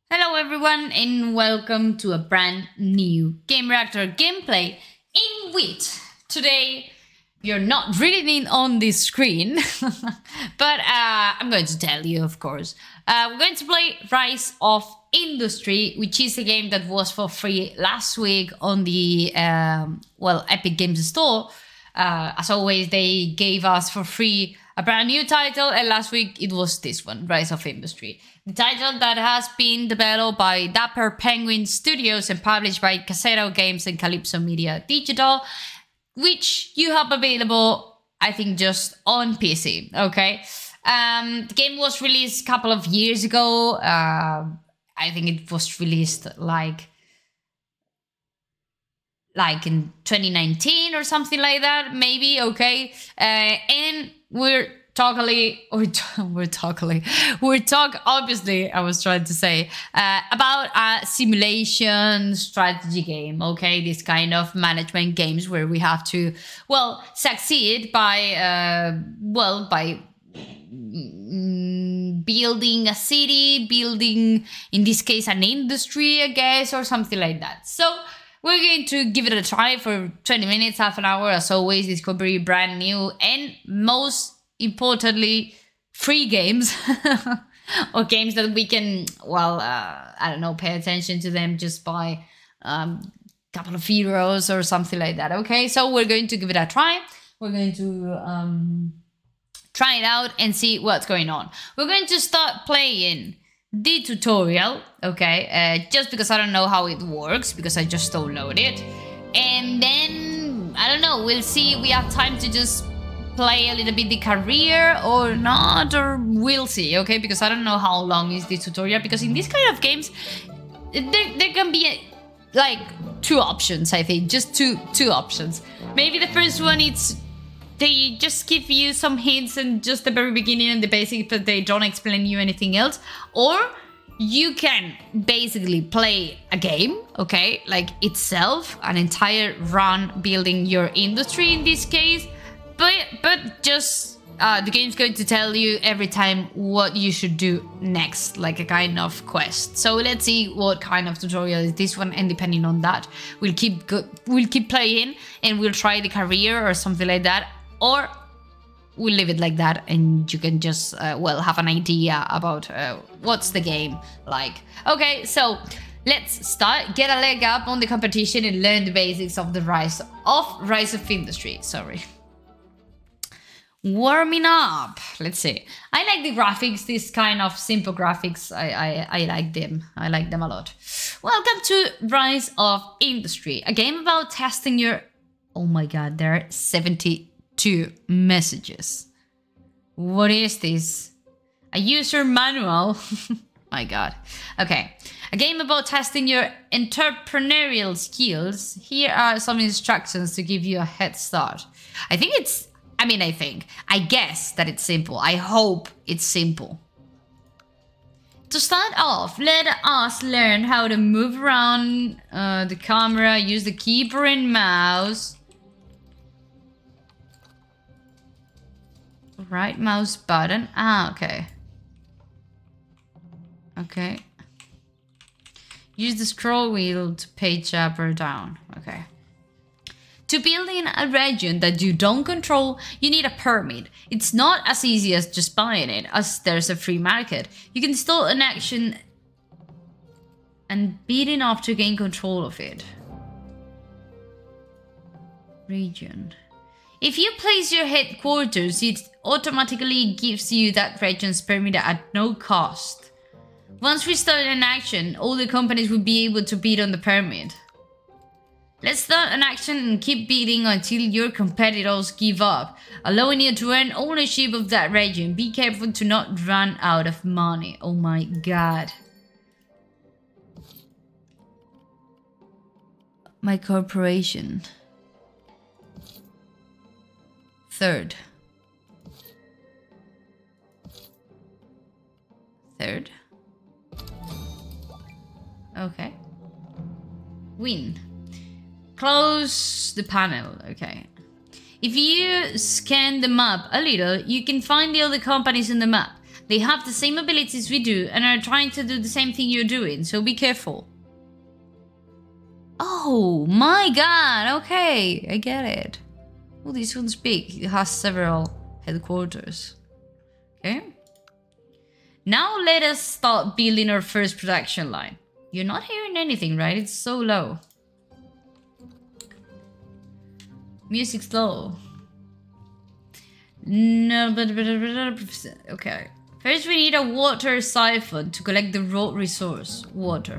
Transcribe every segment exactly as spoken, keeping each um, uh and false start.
Hello everyone and welcome to a brand new Game Reactor gameplay in which today you're not reading on the screen, but uh, I'm going to tell you, of course. Uh, we're going to play Rise of Industry, which is a game that was for free last week on the, um, well, Epic Games Store. Uh, as always, they gave us for free a brand new title, and last week it was this one, Rise of Industry. The title that has been developed by Dapper Penguin Studios and published by Casero Games and Calypso Media Digital, which you have available, I think, just on P C, okay? Um, the game was released a couple of years ago. Uh, I think it was released like like in twenty nineteen or something like that, maybe, okay? Uh, and we're totally, we're, we're totally, we're talk, obviously, I was trying to say, uh, about a simulation strategy game, okay? This kind of management games where we have to, well, succeed by, uh, well, by mm, building a city, building, in this case, an industry, I guess, or something like that. So, we're going to give it a try for twenty minutes, half an hour. As always, this could be brand new and most importantly, free games or games that we can, well, uh, I don't know, pay attention to them just by a um, couple of euros or something like that. Okay, so we're going to give it a try. We're going to um, try it out and see what's going on. We're going to start playing the tutorial, okay, uh, just because I don't know how it works, because I just downloaded it, and then I don't know, we'll see. We have time to just play a little bit the career or not, or we'll see, okay, because I don't know how long is the tutorial, because in this kind of games there, there can be a, like two options, I think, just two two options. Maybe the first one, it's they just give you some hints and just the very beginning and the basics, but they don't explain you anything else. Or you can basically play a game, okay, like itself, an entire run building your industry in this case, but but just uh, the game's going to tell you every time what you should do next, like a kind of quest. So let's see what kind of tutorial is this one, and depending on that, we'll keep go- we'll keep playing and we'll try the career or something like that. Or we'll leave it like that and you can just, uh, well, have an idea about uh, what's the game like. Okay, so let's start, get a leg up on the competition and learn the basics of the rise of Rise of Industry. Sorry. Warming up. Let's see. I like the graphics, this kind of simple graphics. I, I, I like them. I like them a lot. Welcome to Rise of Industry, a game about testing your... Oh my god, there are seventy... two messages. What is this? A user manual? My god. Okay. A game about testing your entrepreneurial skills. Here are some instructions to give you a head start. I think it's... I mean, I think. I guess that it's simple. I hope it's simple. To start off, let us learn how to move around uh, the camera, use the keyboard and mouse. Right mouse button. Ah, okay. Okay. Use the scroll wheel to page up or down. Okay. To build in a region that you don't control, you need a permit. It's not as easy as just buying it, as there's a free market. You can install an action and beat enough to gain control of it. Region. If you place your headquarters, it automatically gives you that region's permit at no cost. Once we start an action, all the companies will be able to bid on the permit. Let's start an action and keep bidding until your competitors give up, allowing you to earn ownership of that region. Be careful to not run out of money. Oh my god. My corporation. Third. Third. Okay. Win. Close the panel. Okay. If you scan the map a little, you can find the other companies in the map. They have the same abilities we do and are trying to do the same thing you're doing, so be careful. Oh my god, okay, I get it. Oh, this one's big. It has several headquarters. Okay. Now let us start building our first production line. You're not hearing anything, right? It's so low. Music's low. No, but, but, okay. First, we need a water siphon to collect the raw resource, water.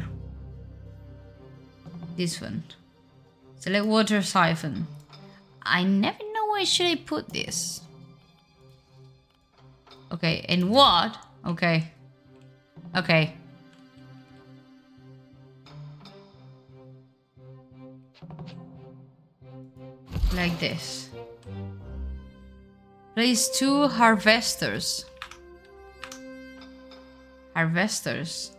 This one. Select water siphon. I never know where should I put this. Okay, and what? Okay. Okay. Like this. Place two harvesters. Harvesters.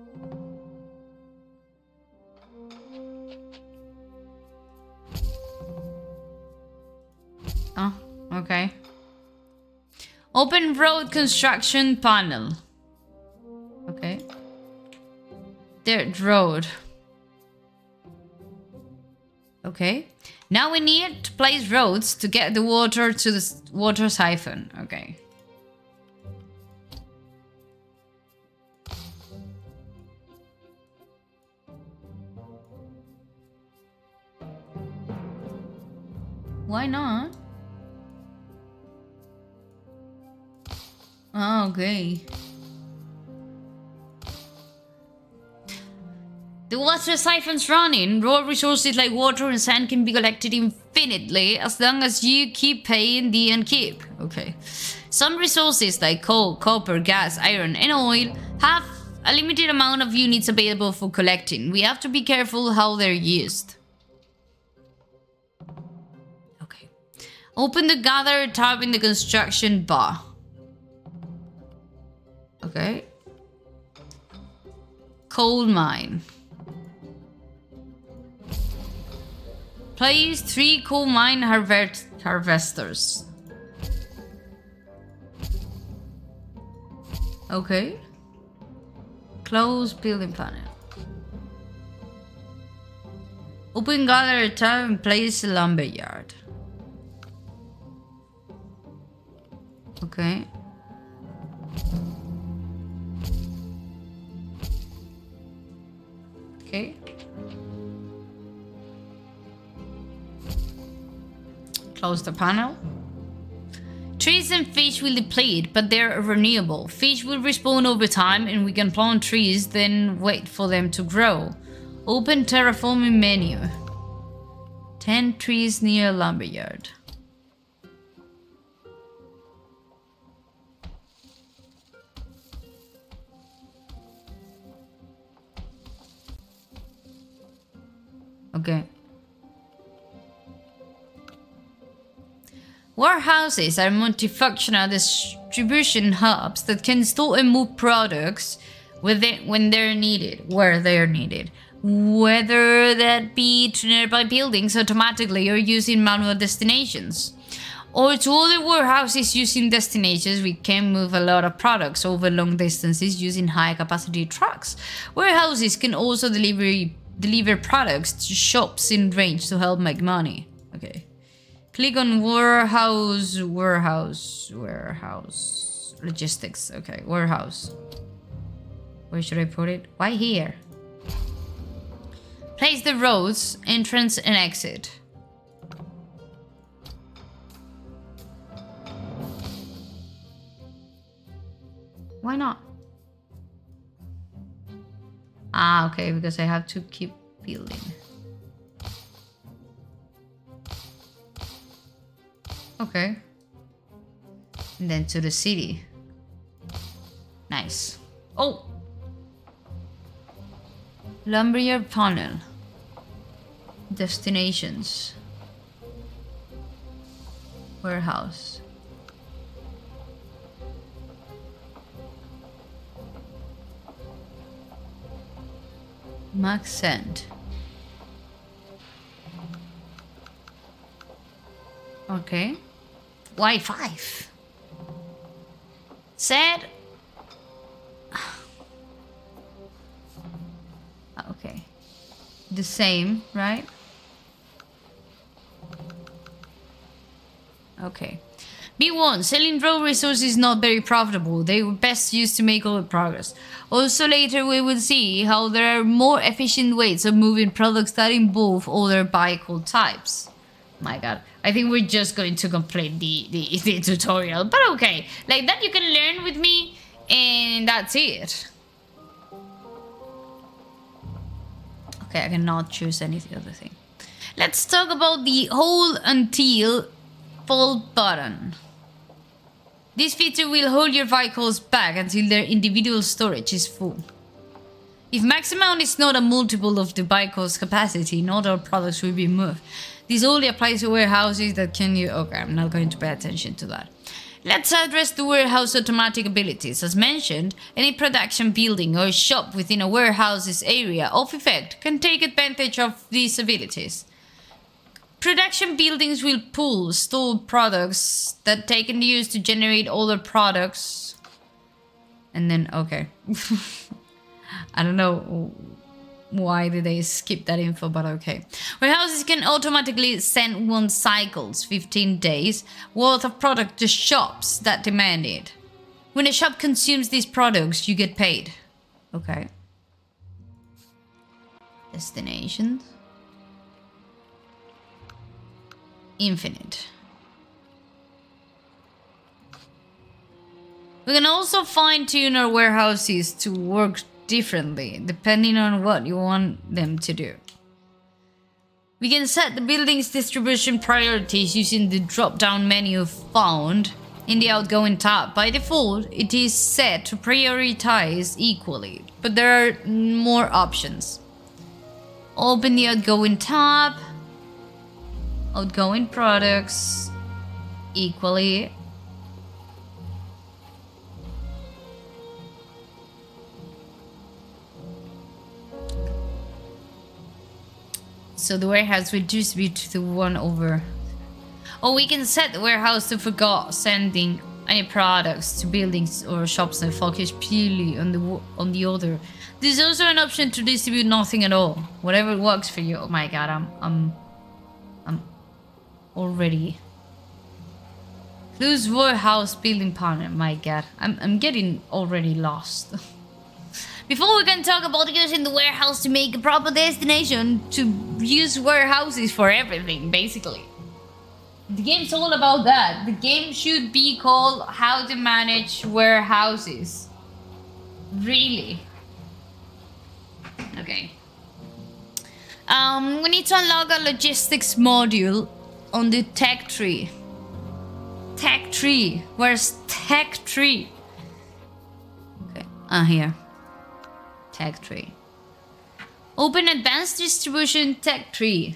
Oh, okay. Open road construction panel. Okay. Dirt road. Okay. Now we need to place roads to get the water to the water siphon. Okay. Why not? Oh, okay. The water siphon's running. Raw resources like water and sand can be collected infinitely as long as you keep paying the upkeep. Okay. Some resources like coal, copper, gas, iron, and oil have a limited amount of units available for collecting. We have to be careful how they're used. Okay. Open the gather tab in the construction bar. Okay. Coal mine. Place three coal mine harvest harvesters. Okay. Close building panel. Open gather tab and place lumberyard. Okay. Okay. Close the panel. Trees and fish will deplete, but they're renewable. Fish will respawn over time and we can plant trees, then wait for them to grow. Open terraforming menu. ten trees near lumberyard. Okay. Warehouses are multifunctional distribution hubs that can store and move products within, when they're needed, where they're needed. Whether that be to nearby buildings automatically or using manual destinations. Or to other warehouses using destinations, we can move a lot of products over long distances using high capacity trucks. Warehouses can also deliver, deliver products to shops in range to help make money. Okay. Click on warehouse, warehouse, warehouse, logistics. Okay, warehouse. Where should I put it? Why here? Place the roads, entrance and exit. Why not? Ah, okay, because I have to keep building. Okay. And then to the city. Nice. Oh! Lumberyard panel. Destinations. Warehouse. Max send. Okay. Why five? Said the same, right? Okay. B one. Selling raw resources is not very profitable. They were best used to make other progress. Also later we will see how there are more efficient ways of moving products that involve other vehicle types. My god. I think we're just going to complete the, the, the tutorial. But okay. Like that you can learn with me and that's it. Okay, I cannot choose any other thing. Let's talk about the hold until full button. This feature will hold your vehicles back until their individual storage is full. If max amount is not a multiple of the vehicle's capacity, not all products will be moved. This only applies to warehouses that can you... Okay, I'm not going to pay attention to that. Let's address the warehouse automatic abilities. As mentioned, any production building or shop within a warehouse's area of effect can take advantage of these abilities. Production buildings will pull stored products that they can use to generate other products. And then, okay. I don't know why did they skip that info, but okay. Warehouses can automatically send one cycles, fifteen days, worth of product to shops that demand it. When a shop consumes these products, you get paid. Okay. Destinations. Infinite. We can also fine-tune our warehouses to work differently, depending on what you want them to do. We can set the building's distribution priorities using the drop-down menu found in the outgoing tab. By default, it is set to prioritize equally, but there are more options. Open the outgoing tab. Outgoing products equally. So the warehouse will distribute to the one over. Or we can set the warehouse to forget sending any products to buildings or shops and focus purely on the on the other. There's also an option to distribute nothing at all. Whatever works for you. Oh my god, I'm I'm I'm already. Close warehouse building partner. My god, I'm I'm getting already lost. Before we can talk about using the warehouse to make a proper destination, to use warehouses for everything, basically. The game's all about that. The game should be called How to Manage Warehouses. Really. Okay. Um, we need to unlock a logistics module on the tech tree. Tech tree. Where's tech tree? Okay. Ah, here. Tech tree. Open advanced distribution tech tree.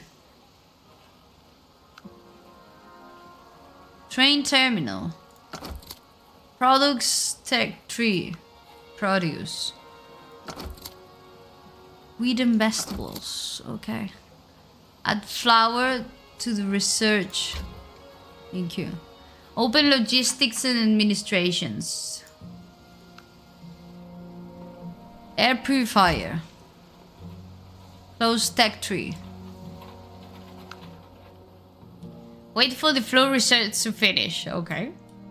Train terminal. Products tech tree. Produce. Wheat and vegetables. Okay. Add flour to the research. Thank you. Open logistics and administrations. Air purifier. Close tech tree. Wait for the flow research to finish. Okay.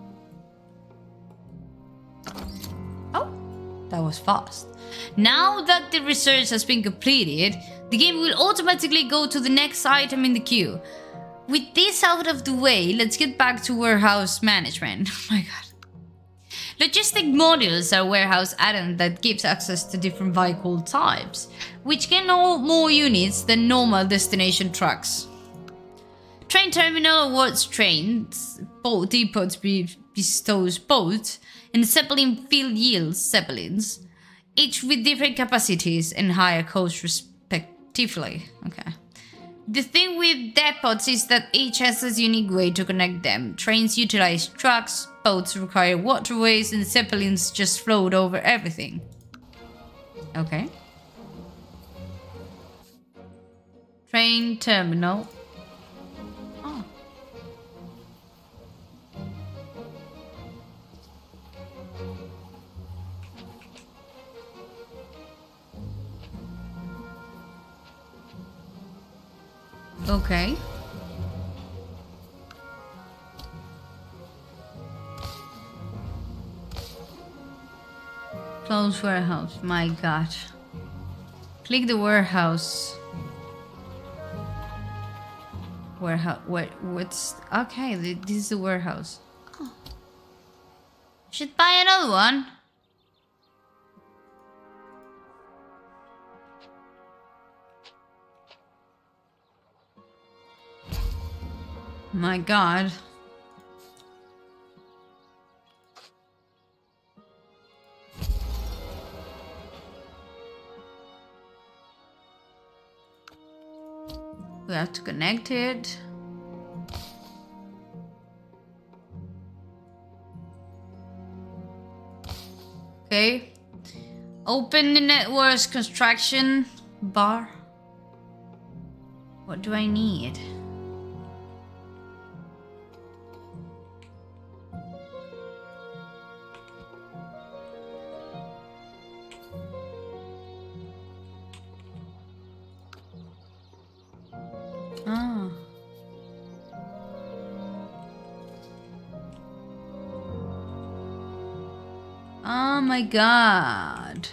Oh, that was fast. Now that the research has been completed, the game will automatically go to the next item in the queue. With this out of the way, let's get back to warehouse management. Oh my god. Logistic modules are warehouse add-on that gives access to different vehicle types, which can hold more units than normal destination trucks. Train terminal awards trains, boat depots bestows boats, and Zeppelin field yields Zeppelins, each with different capacities and higher costs respectively. Okay. The thing with depots is that each has a unique way to connect them. Trains utilize trucks, boats require waterways, and Zeppelins just float over everything. Okay. Train terminal. Oh. Okay. Close warehouse. My god. Click the warehouse. Warehouse. What? What's? Okay, this is the warehouse. Oh. Should buy another one. My god. We have to connect it. Okay. Open the network's construction bar. What do I need? Ah. Oh my god.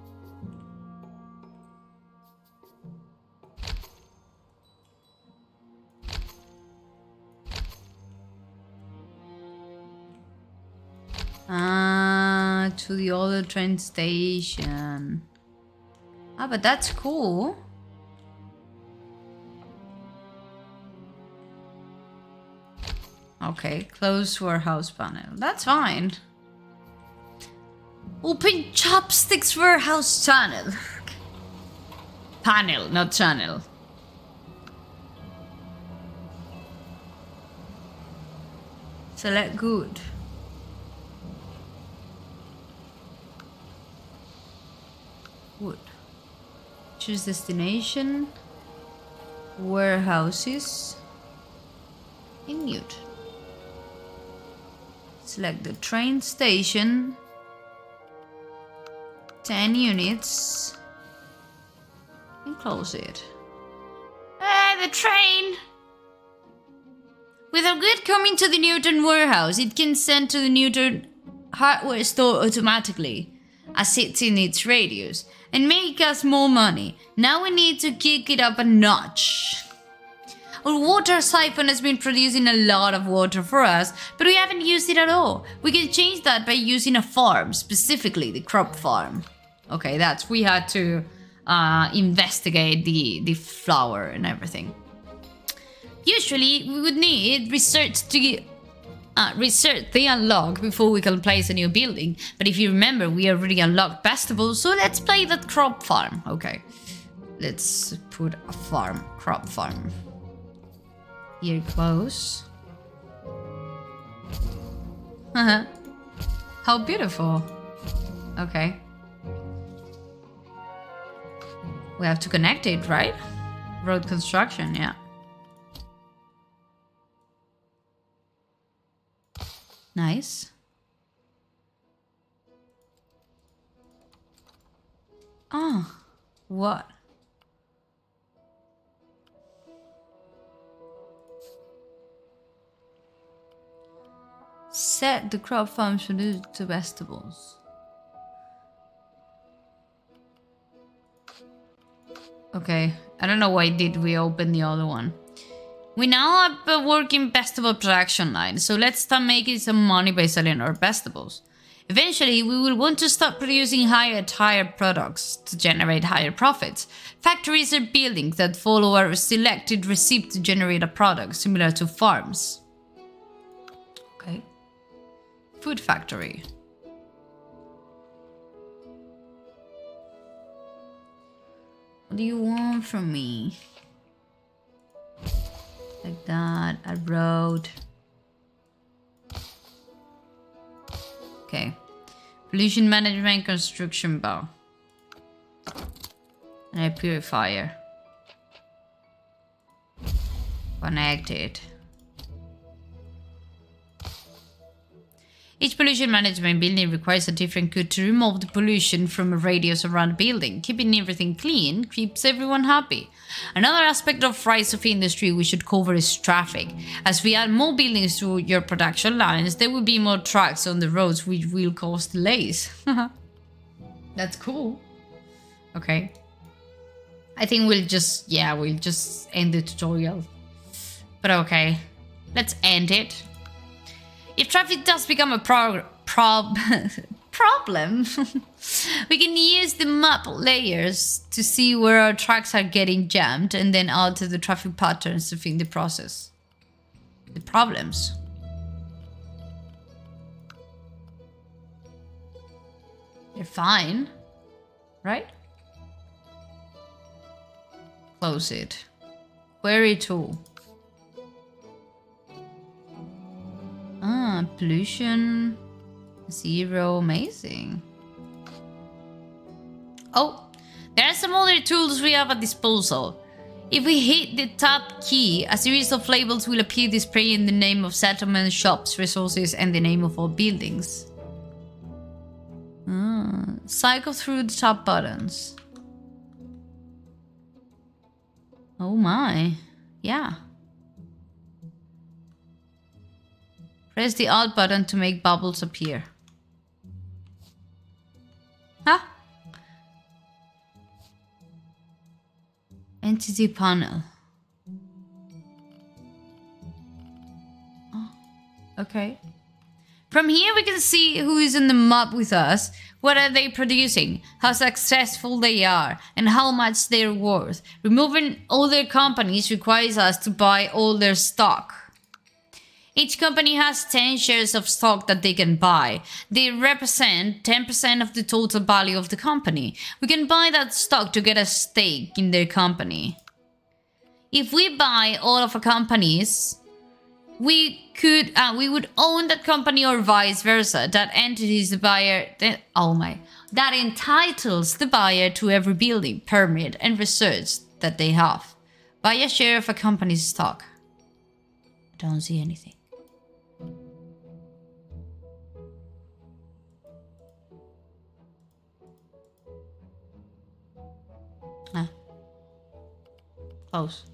Ah, to the other train station. Ah, but that's cool. Okay, close warehouse panel. That's fine. Open Chopsticks warehouse channel. Panel, not channel. Select good. Wood. Choose destination. Warehouses. In mute. Select the train station. ten units. And close it. Ah, the train! With a good coming to the Newton warehouse, it can send to the Newton hardware store automatically, as it's in its radius, and make us more money. Now we need to kick it up a notch. Our water siphon has been producing a lot of water for us, but we haven't used it at all. We can change that by using a farm, specifically the crop farm. Okay, that's, we had to uh, investigate the, the flower and everything. Usually, we would need research to uh, research the unlock before we can place a new building. But if you remember, we already unlocked vegetables, so let's play that crop farm. Okay, let's put a farm, crop farm. Here close. Haha. How beautiful. Okay. We have to connect it, right? Road construction, yeah. Nice. Oh, what? Set the crop farm to to vegetables. Okay, I don't know why did we open the other one. We now have a working vegetable production line, so let's start making some money by selling our vegetables. Eventually, we will want to start producing higher tier products to generate higher profits. Factories are buildings that follow a selected recipe to generate a product, similar to farms. Okay. Food factory. What do you want from me? Like that, a road. Okay. Pollution management construction bar. And a purifier. Connected. Each pollution management building requires a different code to remove the pollution from a radius around the building. Keeping everything clean keeps everyone happy. Another aspect of rise of industry we should cover is traffic. As we add more buildings to your production lines, there will be more trucks on the roads, which will cause delays. That's cool. Okay. I think we'll just, yeah, we'll just end the tutorial. But okay, let's end it. If traffic does become a pro prob problem, we can use the map layers to see where our trucks are getting jammed and then alter the traffic patterns to fit the process. The problems. They're fine, right? Close it. Query tool. Ah, pollution. Zero. Amazing. Oh, there are some other tools we have at disposal. If we hit the tab key, a series of labels will appear displaying the name of settlements, shops, resources, and the name of all buildings. Ah, cycle through the tab buttons. Oh my. Yeah. Press the Alt button to make bubbles appear. Huh? Entity panel. Oh, okay. From here we can see who is in the map with us, what are they producing, how successful they are, and how much they're worth. Removing other companies requires us to buy all their stock. Each company has ten shares of stock that they can buy. They represent ten percent of the total value of the company. We can buy that stock to get a stake in their company. If we buy all of a companies, we could, uh, we would own that company or vice versa. That entity is the buyer, that, oh my, that entitles the buyer to every building, permit, and research that they have. Buy a share of a company's stock. I don't see anything. Ah. Close.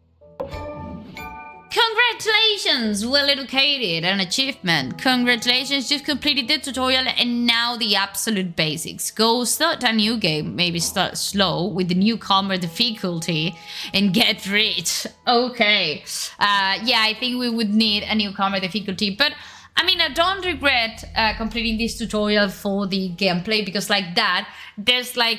Congratulations! Well educated, an achievement. Congratulations, you've completed the tutorial and now the absolute basics. Go start a new game, maybe start slow with the newcomer difficulty and get rich. Okay. Uh, yeah, I think we would need a newcomer difficulty, but I mean, I don't regret uh, completing this tutorial for the gameplay because like that, there's like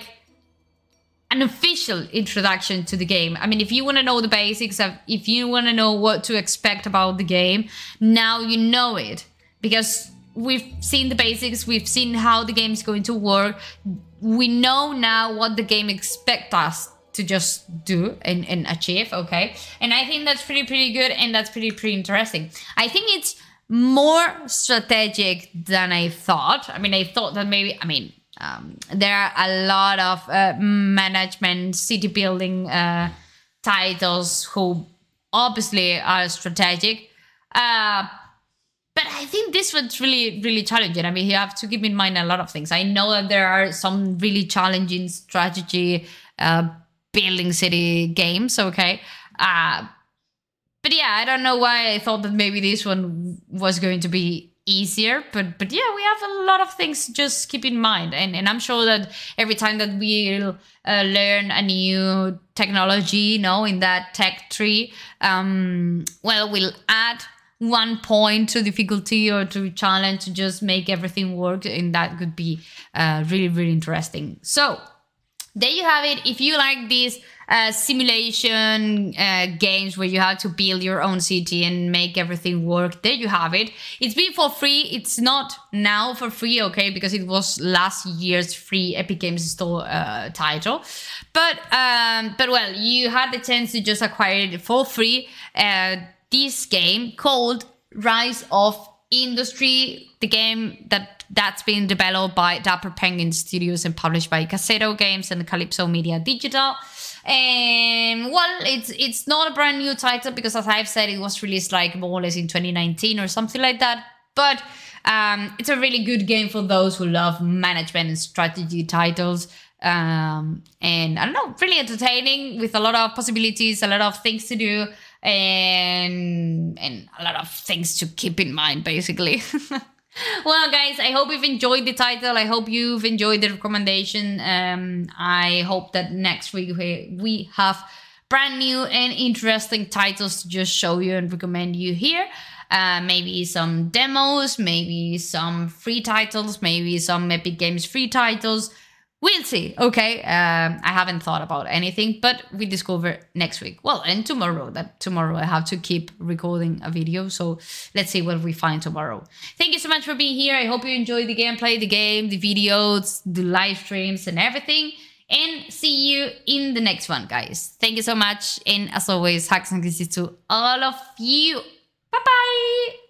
an official introduction to the game. I mean, if you want to know the basics of, if you want to know what to expect about the game, now you know it. Because we've seen the basics, we've seen how the game is going to work. We know now what the game expects us to just do and, and achieve, okay? And I think that's pretty, pretty good and that's pretty, pretty interesting. I think it's more strategic than I thought. I mean, I thought that maybe, I mean, Um, there are a lot of uh, management, city building uh, titles who obviously are strategic. Uh, but I think this one's really, really challenging. I mean, you have to keep in mind a lot of things. I know that there are some really challenging strategy uh, building city games, okay? Uh, but yeah, I don't know why I thought that maybe this one was going to be easier, but but yeah, we have a lot of things to just keep in mind, and and I'm sure that every time that we'll uh, learn a new technology, you know, in that tech tree, um, well, we'll add one point to difficulty or to challenge to just make everything work, and that could be uh, really, really interesting. So there you have it. If you like this uh, simulation uh, games where you have to build your own city and make everything work, there you have it. It's been for free. It's not now for free, okay, because it was last year's free Epic Games Store uh, title. But, um, but well, you had the chance to just acquire it for free. Uh, this game called Rise of Industry, the game that that's been developed by Dapper Penguin Studios and published by Cassetto Games and Calypso Media Digital. And well, it's it's not a brand new title because, as I've said, it was released like more or less in twenty nineteen or something like that. but um, it's a really good game for those who love management and strategy titles. Um, and I don't know, really entertaining with a lot of possibilities, a lot of things to do, and and a lot of things to keep in mind, basically. Well, guys, I hope you've enjoyed the title. I hope you've enjoyed the recommendation. Um, I hope that next week we, we have brand new and interesting titles to just show you and recommend you here. Uh, maybe some demos, maybe some free titles, maybe some Epic Games free titles. We'll see, okay? Um, I haven't thought about anything, but we discover next week. Well, and tomorrow. That tomorrow I have to keep recording a video, so let's see what we find tomorrow. Thank you so much for being here. I hope you enjoyed the gameplay, the game, the videos, the live streams, and everything. And see you in the next one, guys. Thank you so much. And as always, hugs and kisses to all of you. Bye-bye.